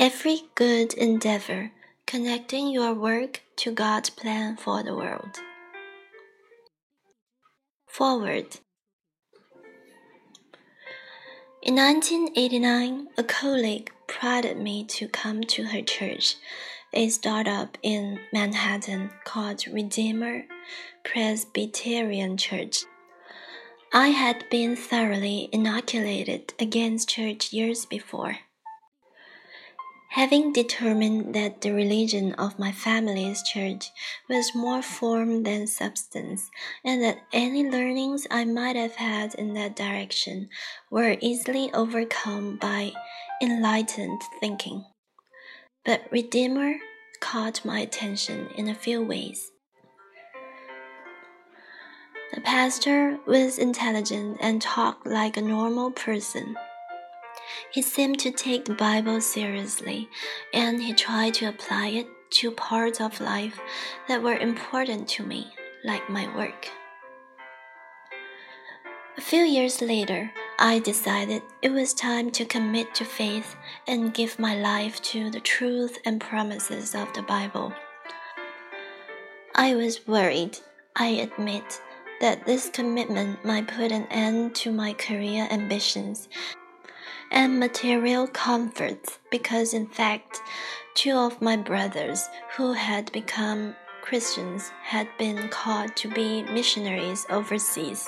Every good endeavor, connecting your work to God's plan for the world. Forward. In 1989, a colleague prodded me to come to her church, a startup in Manhattan called Redeemer Presbyterian Church. I had been thoroughly inoculated against church years before. Having determined that the religion of my family's church was more form than substance, and that any learnings I might have had in that direction were easily overcome by enlightened thinking. But Redeemer caught my attention in a few ways. The pastor was intelligent and talked like a normal person. He seemed to take the Bible seriously, and he tried to apply it to parts of life that were important to me, like my work. A few years later, I decided it was time to commit to faith and give my life to the truth and promises of the Bible. I was worried, I admit, that this commitment might put an end to my career ambitions and material comforts, because in fact, 2 of my brothers who had become Christians had been called to be missionaries overseas.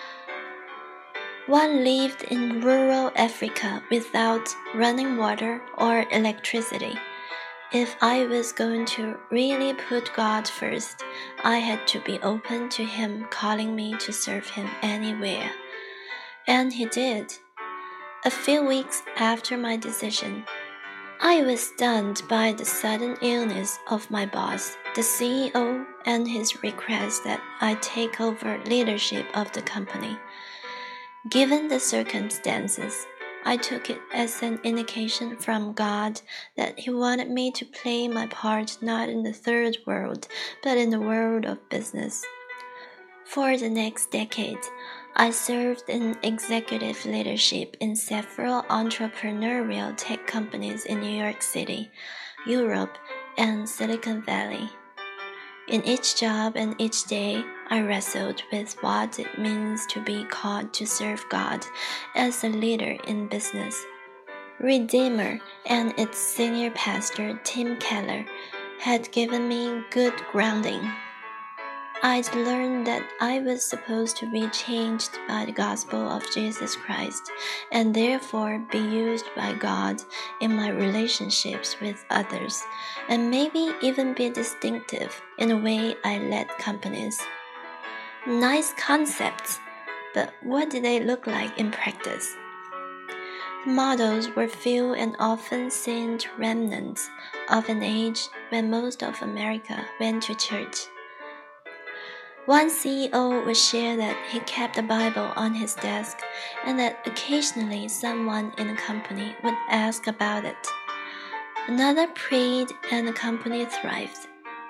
One lived in rural Africa without running water or electricity. If I was going to really put God first, I had to be open to Him calling me to serve Him anywhere. And He did. A few weeks after my decision, I was stunned by the sudden illness of my boss, the CEO, and his request that I take over leadership of the company. Given the circumstances, I took it as an indication from God that He wanted me to play my part not in the third world, but in the world of business. For the next decade, I served in executive leadership in several entrepreneurial tech companies in New York City, Europe, and Silicon Valley. In each job and each day, I wrestled with what it means to be called to serve God as a leader in business. Redeemer and its senior pastor, Tim Keller, had given me good grounding. I'd learned that I was supposed to be changed by the gospel of Jesus Christ and therefore be used by God in my relationships with others, and maybe even be distinctive in the way I led companies. Nice concepts, but what did they look like in practice? The models were few and often seemed remnants of an age when most of America went to church. One CEO would share that he kept the Bible on his desk and that occasionally someone in the company would ask about it. Another prayed and the company thrived.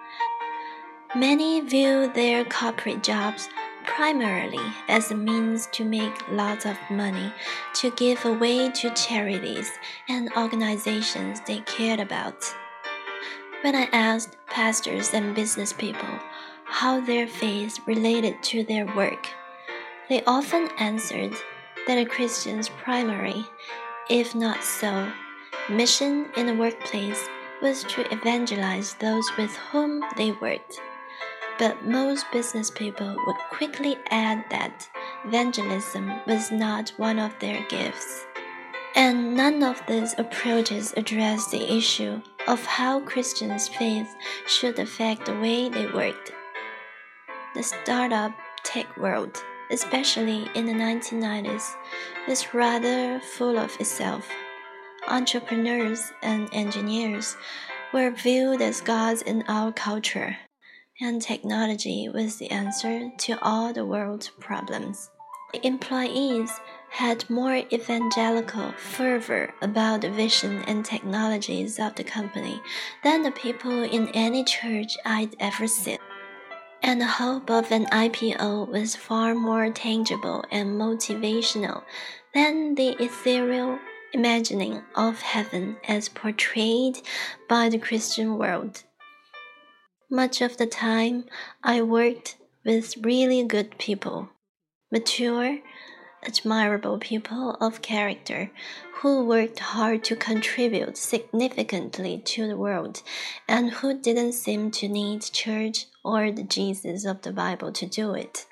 Many viewed their corporate jobs primarily as a means to make lots of money to give away to charities and organizations they cared about. When I asked pastors and business people how their faith related to their work, they often answered that a Christian's primary, if not so, mission in the workplace was to evangelize those with whom they worked. But most business people would quickly add that evangelism was not one of their gifts. And none of these approaches address the issue of how Christians' faith should affect the way they worked. The startup tech world, especially in the 1990s, was rather full of itself. Entrepreneurs and engineers were viewed as gods in our culture, and technology was the answer to all the world's problems. The employees had more evangelical fervor about the vision and technologies of the company than the people in any church I'd ever seen. And the hope of an IPO was far more tangible and motivational than the ethereal imagining of heaven as portrayed by the Christian world. Much of the time, I worked with really good people, mature, admirable people of character who worked hard to contribute significantly to the world and who didn't seem to need church or the Jesus of the Bible to do it.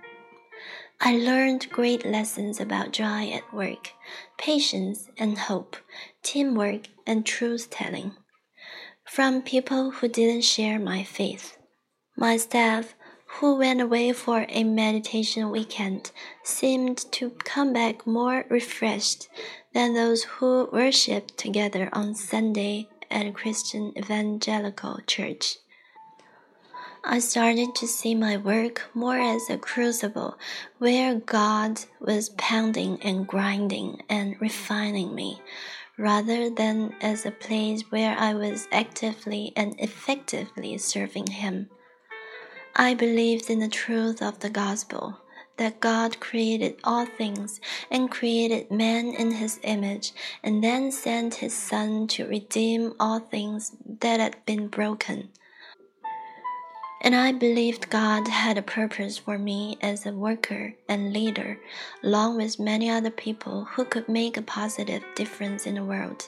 I learned great lessons about joy at work, patience and hope, teamwork and truth-telling, from people who didn't share my faith. My staff, who went away for a meditation weekend, seemed to come back more refreshed than those who worshiped together on Sunday at a Christian evangelical church. I started to see my work more as a crucible where God was pounding and grinding and refining me, rather than as a place where I was actively and effectively serving Him. I believed in the truth of the gospel, that God created all things and created man in His image, and then sent His Son to redeem all things that had been broken. And I believed God had a purpose for me as a worker and leader, along with many other people who could make a positive difference in the world.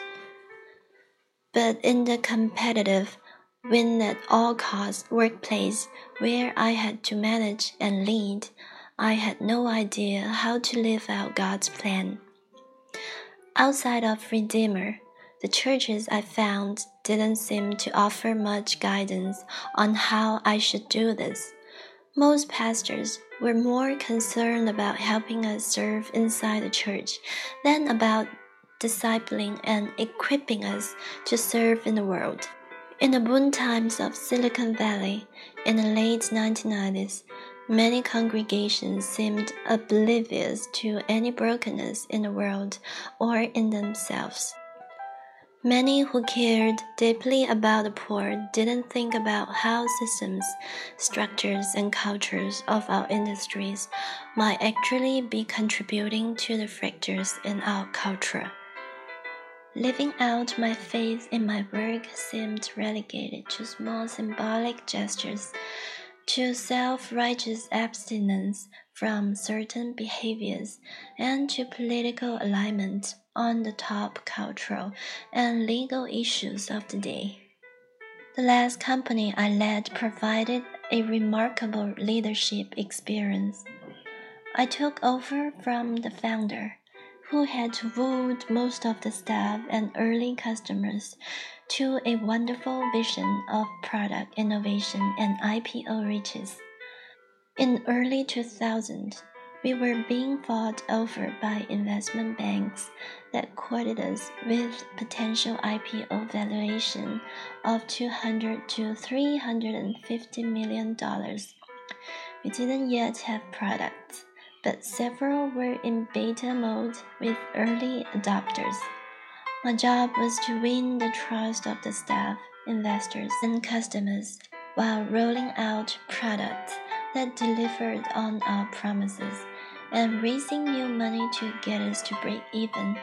But in the competitive, win at all costs workplace where I had to manage and lead, I had no idea how to live out God's plan. Outside of Redeemer, the churches I found didn't seem to offer much guidance on how I should do this. Most pastors were more concerned about helping us serve inside the church than about discipling and equipping us to serve in the world. In the boom times of Silicon Valley in the late 1990s, many congregations seemed oblivious to any brokenness in the world or in themselves. Many who cared deeply about the poor didn't think about how systems, structures, and cultures of our industries might actually be contributing to the fractures in our culture. Living out my faith in my work seemed relegated to small symbolic gestures, to self-righteous abstinence from certain behaviors, and to political alignment on the top cultural and legal issues of the day. The last company I led provided a remarkable leadership experience. I took over from the founder, who had wooed most of the staff and early customers to a wonderful vision of product innovation and IPO riches. In early 2000, we were being fought over by investment banks that quoted us with potential IPO valuation of $200 to $350 million. We didn't yet have products, but several were in beta mode with early adopters. My job was to win the trust of the staff, investors, and customers while rolling out products that delivered on our promises and raising new money to get us to break even.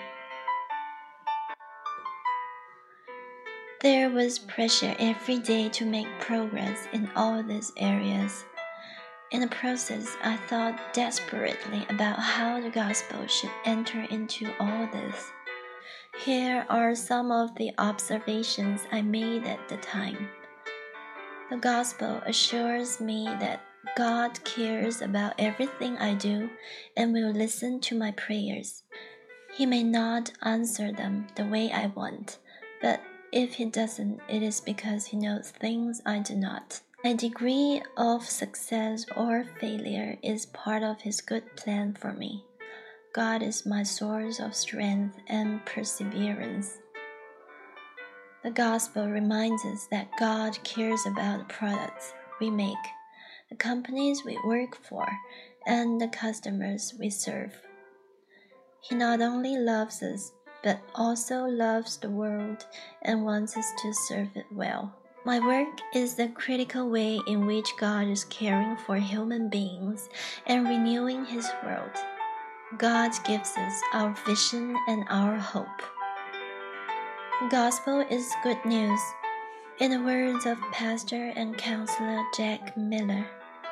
There was pressure every day to make progress in all these areas. In the process, I thought desperately about how the gospel should enter into all this. Here are some of the observations I made at the time. The gospel assures me that God cares about everything I do and will listen to my prayers. He may not answer them the way I want, but if He doesn't, it is because He knows things I do not. My degree of success or failure is part of His good plan for me. God is my source of strength and perseverance. The gospel reminds us that God cares about the products we make, the companies we work for, and the customers we serve. He not only loves us, but also loves the world and wants us to serve it well. My work is the critical way in which God is caring for human beings and renewing His world. God gives us our vision and our hope. The gospel is good news. In the words of pastor and counselor Jack Miller,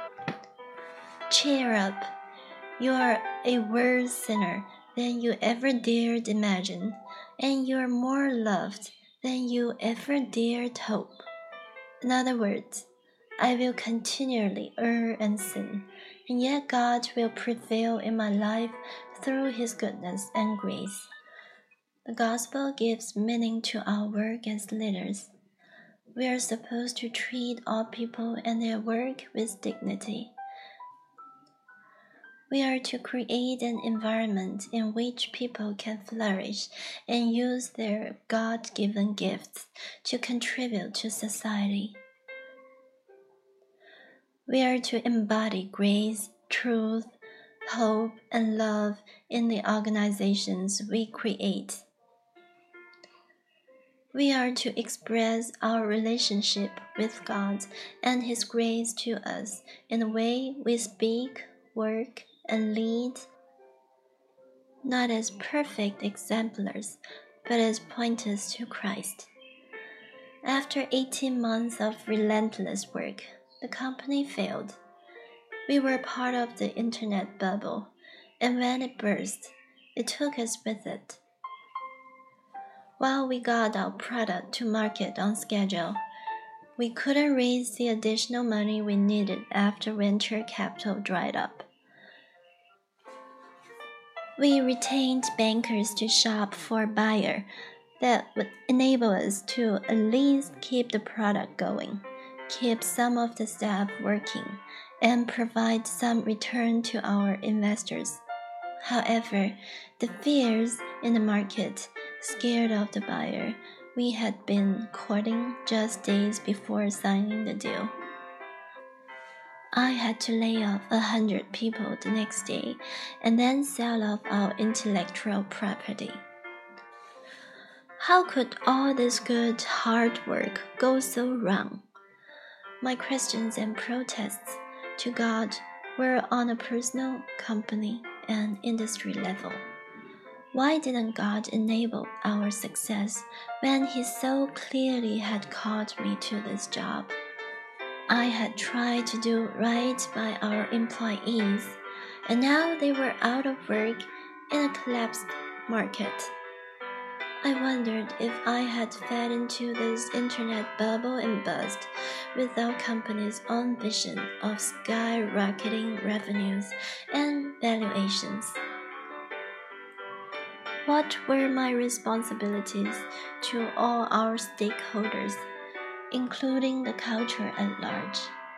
cheer up. You are a worse sinner than you ever dared imagine, and you are more loved than you ever dared hope. In other words, I will continually err and sin, and yet God will prevail in my life through His goodness and grace. The gospel gives meaning to our work as leaders. We are supposed to treat all people and their work with dignity. We are to create an environment in which people can flourish and use their God-given gifts to contribute to society. We are to embody grace, truth, hope, and love in the organizations we create. We are to express our relationship with God and His grace to us in the way we speak, work, and lead, not as perfect exemplars, but as pointers to Christ. After 18 months of relentless work, the company failed. We were part of the internet bubble, and when it burst, it took us with it. While we got our product to market on schedule, we couldn't raise the additional money we needed after venture capital dried up. We retained bankers to shop for a buyer that would enable us to at least keep the product going, keep some of the staff working, and provide some return to our investors. However, the fears in the market scared off the buyer we had been courting just days before signing the deal. I had to lay off 100 people the next day and then sell off our intellectual property. How could all this good, hard work go so wrong? My questions and protests to God were on a personal, company, and industry level. Why didn't God enable our success when He so clearly had called me to this job? I had tried to do right by our employees, and now they were out of work in a collapsed market. I wondered if I had fed into this internet bubble and bust with our company's own vision of skyrocketing revenues and valuations. What were my responsibilities to all our stakeholders, including the culture at large?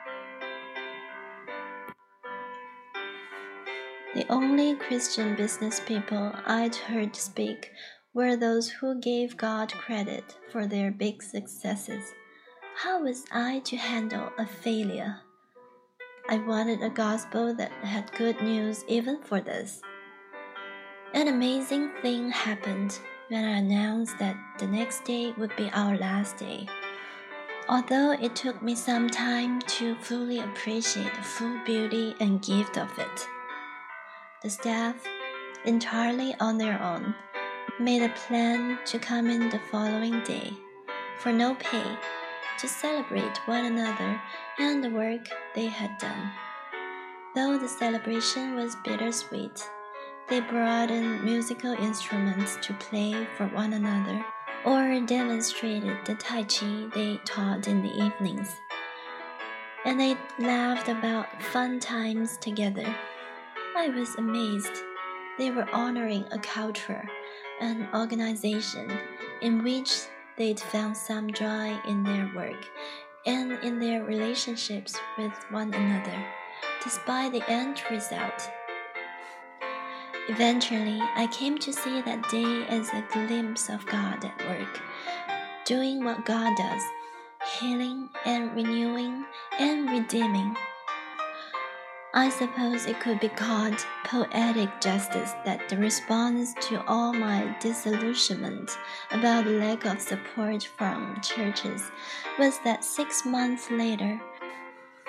The only Christian business people I'd heard speak were those who gave God credit for their big successes. How was I to handle a failure? I wanted a gospel that had good news even for this. An amazing thing happened when I announced that the next day would be our last day. Although it took me some time to fully appreciate the full beauty and gift of it, the staff, entirely on their own, made a plan to come in the following day, for no pay, to celebrate one another and the work they had done. Though the celebration was bittersweet, they brought in musical instruments to play for one another or demonstrated the Tai Chi they taught in the evenings. And they laughed about fun times together. I was amazed. They were honoring a culture, an organization in which they'd found some joy in their work and in their relationships with one another, despite the end result. Eventually, I came to see that day as a glimpse of God at work, doing what God does, healing and renewing and redeeming. I suppose it could be called poetic justice that the response to all my disillusionment about the lack of support from churches was that 6 months later,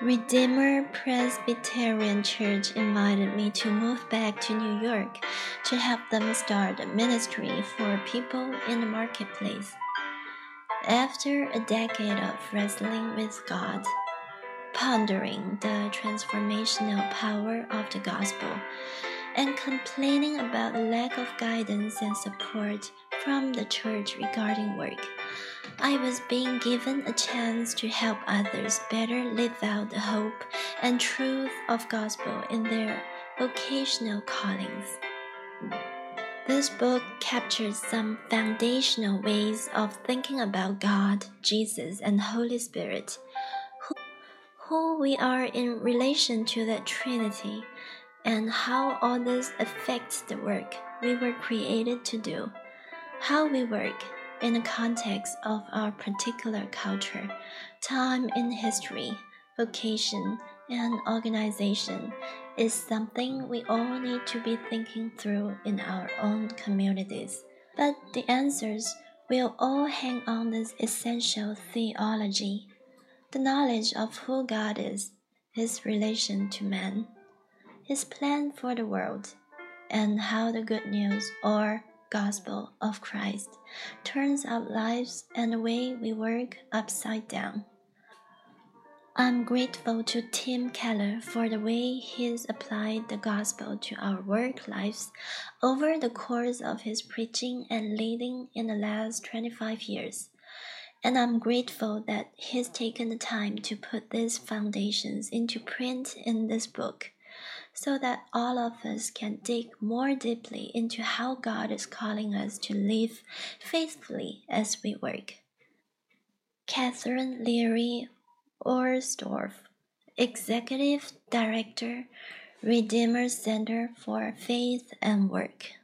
Redeemer Presbyterian Church invited me to move back to New York to help them start a ministry for people in the marketplace. After a decade of wrestling with God, pondering the transformational power of the gospel, and complaining about the lack of guidance and support from the church regarding work, I was being given a chance to help others better live out the hope and truth of gospel in their vocational callings. This book captures some foundational ways of thinking about God, Jesus, and Holy Spirit, who we are in relation to the Trinity, and how all this affects the work we were created to do, how we work in the context of our particular culture, time in history, vocation, and organization is something we all need to be thinking through in our own communities. But the answers will all hang on this essential theology, the knowledge of who God is, His relation to man, His plan for the world, and how the good news or gospel of Christ turns our lives and the way we work upside down. I'm grateful to Tim Keller for the way he's applied the gospel to our work lives over the course of his preaching and leading in the last 25 years. And I'm grateful that he's taken the time to put these foundations into print in this book, so that all of us can dig more deeply into how God is calling us to live faithfully as we work. Catherine Leary Orsdorf, Executive Director, Redeemer Center for Faith and Work.